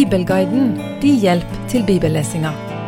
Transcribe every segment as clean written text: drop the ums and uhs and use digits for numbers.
Bibelguiden, din hjelp til bibellesinga.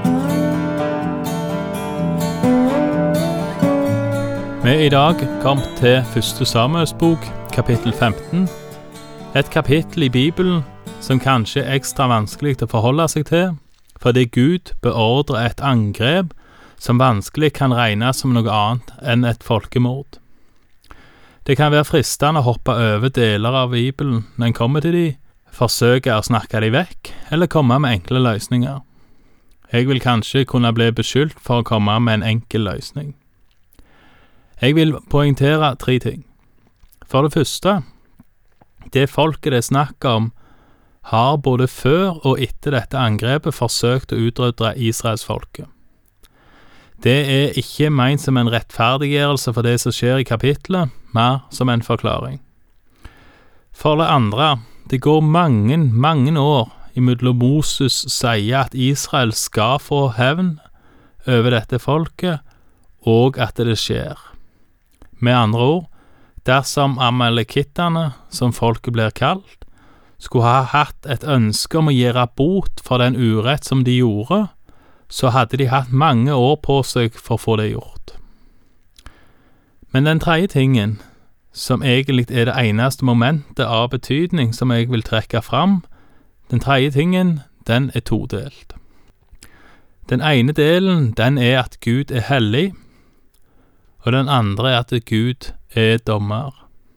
Vi er i dag kommet til 1. Samuels bok, kapittel 15. Et kapittel i Bibelen som kanskje er ekstra vanskelig å forholde seg til, fordi Gud beordrer et angrep som vanskelig kan regnes som noe annet enn et folkemord. Det kan være fristende å hoppe over deler av Bibelen når en kommer til de, forsøke å snakke de vekk, eller komme med enkle løsninger. Jeg vil kanskje kunne bli beskyldt for å komme med en enkel løsning. Jeg vil poengtere 3 ting. For det første, det folket det snakker om, har både før og etter dette angrepet forsøkt å utrydde Israelsfolket. Det er ikke ment som en rettferdiggjørelse for det som skjer i kapitlet, mer som en forklaring. For det andre, det går mange år imellom Moses sier at Israel skal få hevn over dette folket, og at det skjer. Med andre ord, dersom amalekittene, som folket blir kalt, skulle ha hatt et ønske om å gjøre bot for den urett som de gjorde, så hadde de hatt mange år på seg for å få det gjort. Men den tredje tingen, som egentlig er det eneste momentet av betydning som jeg vil trekke fram, den tredje tingen, den er todelt. Den ene delen, den er at Gud er hellig, og den andre er at Gud er dommer.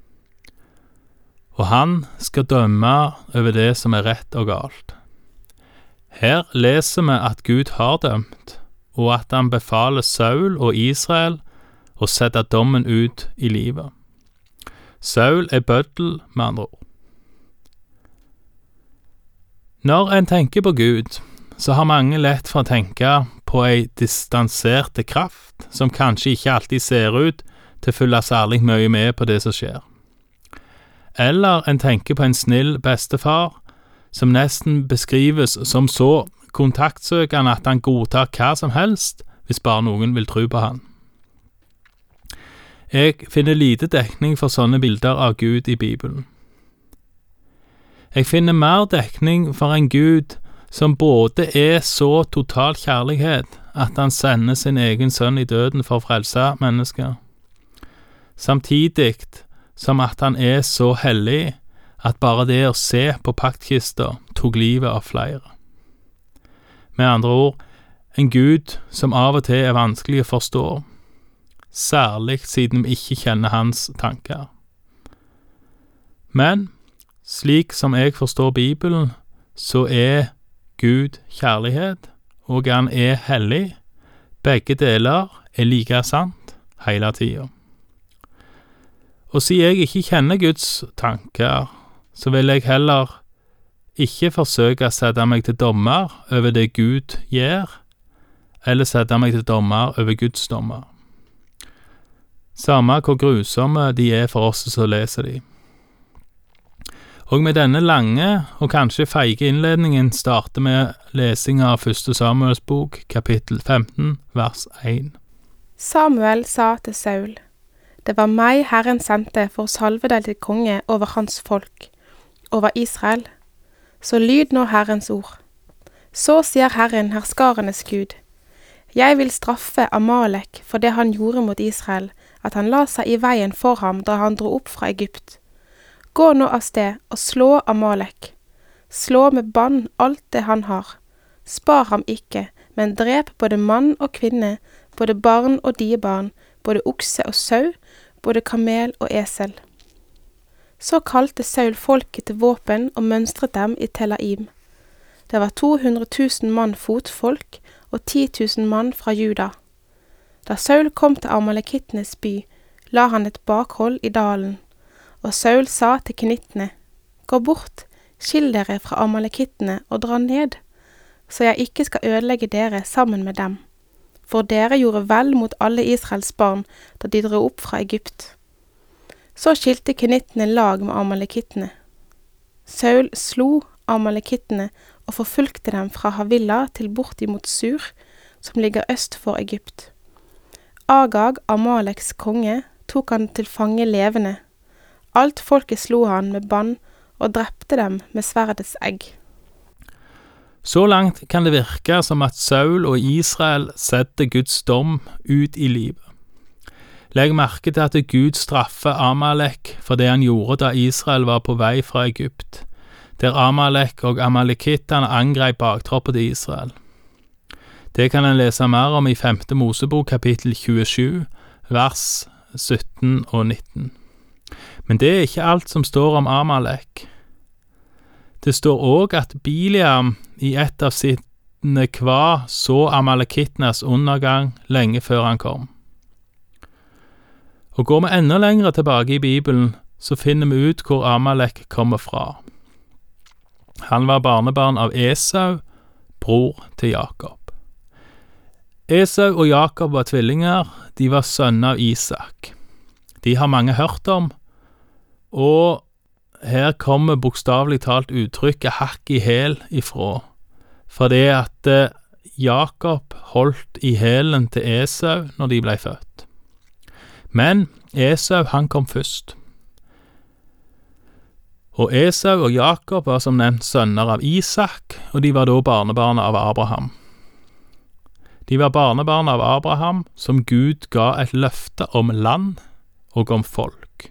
Og han skal dømme over det som er rett og galt. Her leser vi at Gud har dømt, og at han befaler Saul og Israel å sette dommen ut i livet. Saul er bøddel, med andre ord. Når en tenker på Gud, så har mange lett for å tenke på ei distanserte kraft, som kanskje ikke alltid ser ut til å følge særlig mye med på det som skjer. Eller en tenker på en snill bestefar, som nesten beskrives som så kontaktsøkende at han godtar hva som helst, hvis bare noen vil tro på han. Jeg finner lite dekning for sånne bilder av Gud i Bibelen. Jeg finner mer dekning for en Gud som både er så total kjærlighet at han sender sin egen sønn i døden for å frelse mennesker, samtidig som at han er så hellig at bare det å se på paktkista tok livet av flere. Med andre ord, en Gud som av og til er vanskelig å forstå, særlig siden vi ikke kjenner hans tanker. Men, slik som jeg forstår Bibelen, så er Gud kjærlighet, og han er hellig. Begge deler er like sant hele tiden. Og siden jeg ikke kjenner Guds tanker, så vil jeg heller ikke forsøke å sette meg til dommer over det Gud gjør, eller sette meg til dommer over Guds dommer. Samme hvor grusomme de er for oss som leser de. Og med denne lange og kanskje feige innledningen starter med lesing av 1. Samuels bok, kapittel 15, vers 1. Samuel sa til Saul: «Det var meg Herren sendte for å salve deg til konge over hans folk, over Israel. Så lyd nå Herrens ord. Så sier Herren, herskarenes Gud: Jeg vil straffe Amalek for det han gjorde mot Israel, at han la seg i veien for ham da han dro opp fra Egypt. Gå nå av sted og slå Amalek. Slå med bann alt det han har. Spar ham ikke, men drep både mann og kvinne, både barn og diebarn, både okse og sau, både kamel og esel.» Så kalte Saul folket til våpen og mønstret dem i Telaim. Det var 200 000 mann fotfolk og 10 000 mann fra Juda. Da Saul kom til Amalekittenes by, la han et bakhold i dalen, og Saul sa til kenittene: «Gå bort, skill dere fra amalekittene og dra ned, så jeg ikke skal ødelegge dere sammen med dem. For dere gjorde vel mot alle Israels barn da de dro opp fra Egypt.» Så skilte kenittene lag med amalekittene. Saul slo amalekittene og forfulgte dem fra Havilla til bort imot Sur, som ligger øst for Egypt. Agag, Amaleks konge, tok han til fange levende. Alt folket slo han med bann og drepte dem med sverdets egg. Så langt kan det virke som at Saul og Israel setter Guds dom ut i livet. Legg merke til at Gud straffer Amalek for det han gjorde da Israel var på vei fra Egypt, der Amalek og amalekittene angrep baktroppen til Israel. Det kan en lese mer om i 5. Mosebok kapittel 27, vers 17 og 19. Men det er ikke alt som står om Amalek. Det står også at Biliam i et av sine kva så amalekittenes undergang lenge før han kom. Og går vi enda lengre tilbake i Bibelen, så finner vi ut hvor Amalek kommer fra. Han var barnebarn av Esau, bror til Jakob. Esau og Jakob var tvillinger, de var sønner av Isak. De har mange hørt om, og her kommer bokstavelig talt uttrykket hakk i hæl ifra, for det at Jakob holdt i hælen til Esau når de ble født. Men Esau han kom først. Og Esau og Jakob var som nevnt sønner av Isak, og de var da barnebarn av Abraham. De var barnebarn av Abraham som Gud ga et løfte om land og om folk.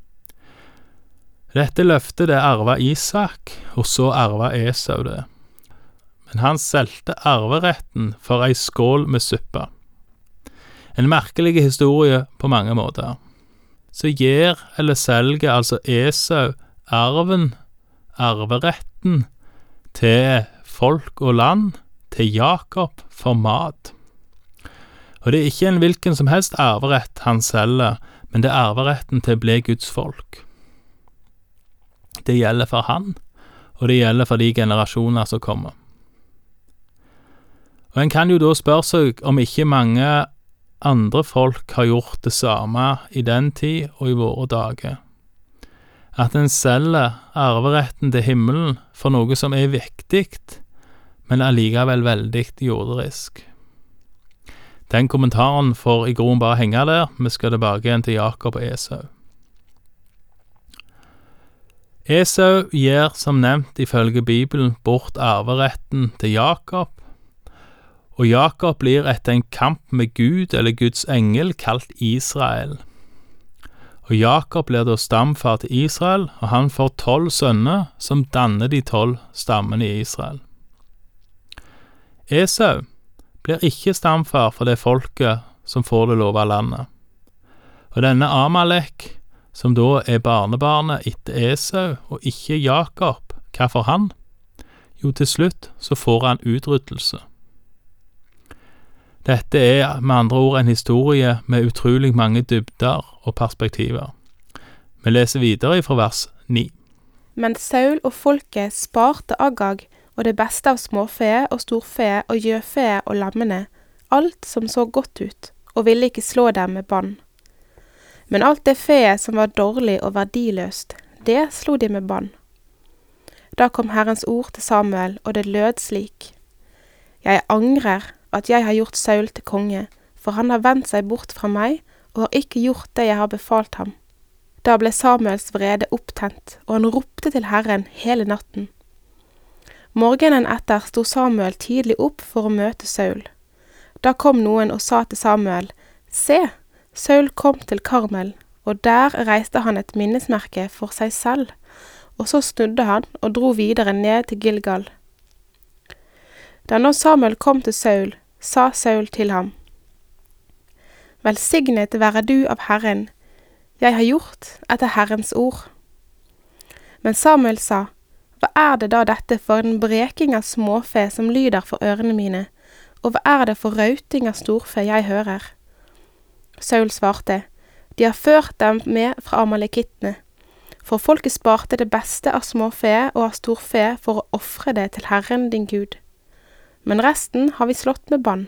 Dette løftet det arvet Isak, og så arvet Esau det. Men han solgte arveretten for ei skål med suppe. En merkelig historie på mange måter. Så gir eller selger altså Esau arveretten til folk og land, til Jakob for mat. Og det er ikke en hvilken som helst arverett han selger, men det er arveretten til å bli Guds folk. Det gjelder for han, og det gjelder for de generasjoner som kommer. Og en kan jo da spørre seg om ikke mange andre folk har gjort det samme i den tid og i våre dager. At en selger arveretten til himmelen for noe som er viktig, men allikevel veldig jorderisk. Den kommentaren får i grunnen bare henge der, vi skal tilbake igjen til Jakob og Esau. Esau gir som nevnt ifølge Bibelen bort arveretten til Jakob, og Jakob blir etter en kamp med Gud eller Guds engel kalt Israel. Og Jakob blir da stamfar til Israel, og han får 12 sønner som danner de 12 stammene i Israel. Esau blir ikke stamfar for det folket som får det lova landet. Og denne Amalek, som da er barnebarnet etter Esau og ikke Jakob, hva får han? Jo, til slutt så får han utryddelse. Dette er med andre ord en historie med utrolig mange dybder og perspektiver. Vi leser videre fra vers 9. Men Saul og folket sparte Agag og det beste av småfe og storfe og gjøfe og lammene, alt som så godt ut, og ville ikke slå dem med bann. Men alt det feet som var dårlig og verdiløst, det slo de med bann. Da kom Herrens ord til Samuel, og det lød slik: Jeg angrer at jeg har gjort Saul til konge, for han har vendt seg bort fra meg, og har ikke gjort det jeg har befalt ham. Da ble Samuels vrede opptent, og han ropte til Herren hele natten. Morgenen etter sto Samuel tidlig opp for å møte Saul. Da kom noen og sa til Samuel: Se, Saul kom til Karmel, og der reiste han et minnesmerke for seg selv, og så snudde han og dro videre ned til Gilgal. Da nå Samuel kom til Saul, sa Saul til ham: Velsignet være du av Herren, jeg har gjort etter Herrens ord. Men Samuel sa: Hva er det da dette for en breking av småfe som lyder for ørene mine, og hva er det for rauting av storfe jeg hører? Saul svarte: De har ført dem med fra amalekittene, for folket sparte det beste av småfe og av storfe for å ofre det til Herren din Gud. Men resten har vi slått med bann.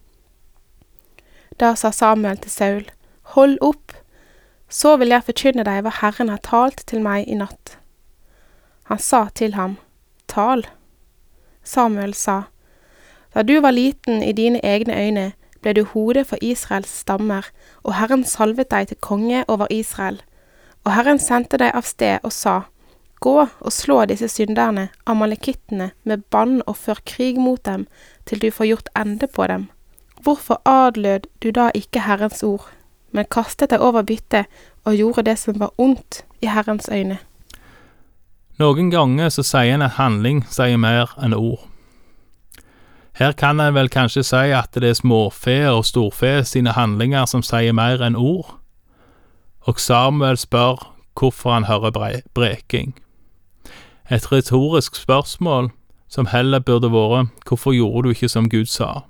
Da sa Samuel til Saul: Hold opp, så vil jeg forkynne deg hva Herren har talt til meg i natt. Han sa til ham: Tal. Samuel sa: Da du var liten i dine egne øyne, ble du hode for Israels stammer, og Herren salvet deg til konge over Israel. Og Herren sendte deg av sted og sa: Gå og slå disse synderne, amalekittene, med bann og før krig mot dem, til du får gjort ende på dem. Hvorfor adlød du da ikke Herrens ord, men kastet deg over byttet og gjorde det som var ondt i Herrens øyne? Noen ganger så sier en at handling sier mer enn ord. Her kan en vel kanskje si at det er småfe og storfe sine handlinger som sier mer enn ord. Og Samuel spør hvorfor han hører breking. Et retorisk spørsmål som heller burde vært hvorfor gjorde du ikke som Gud sa?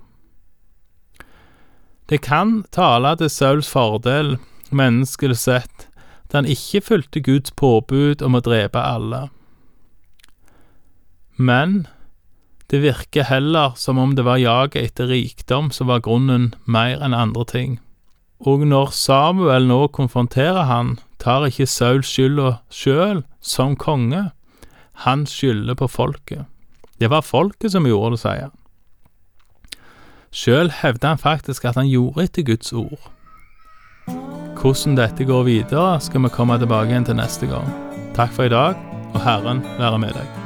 Det kan tale til Sauls fordel, menneskelig sett, da han ikke fulgte Guds påbud om å drepe alle. Men det virker heller som om det var jaget etter rikdom som var grunnen mer enn andre ting. Og når Samuel nå konfronterer han, tar ikke Saul skylda selv som konge. Han skylder på folket. Det var folket som gjorde det, sier han. Selv hevder han faktisk at han gjorde etter Guds ord. Hvordan dette går videre skal vi komme tilbake igjen til neste gang. Takk for i dag, og Herren være med deg.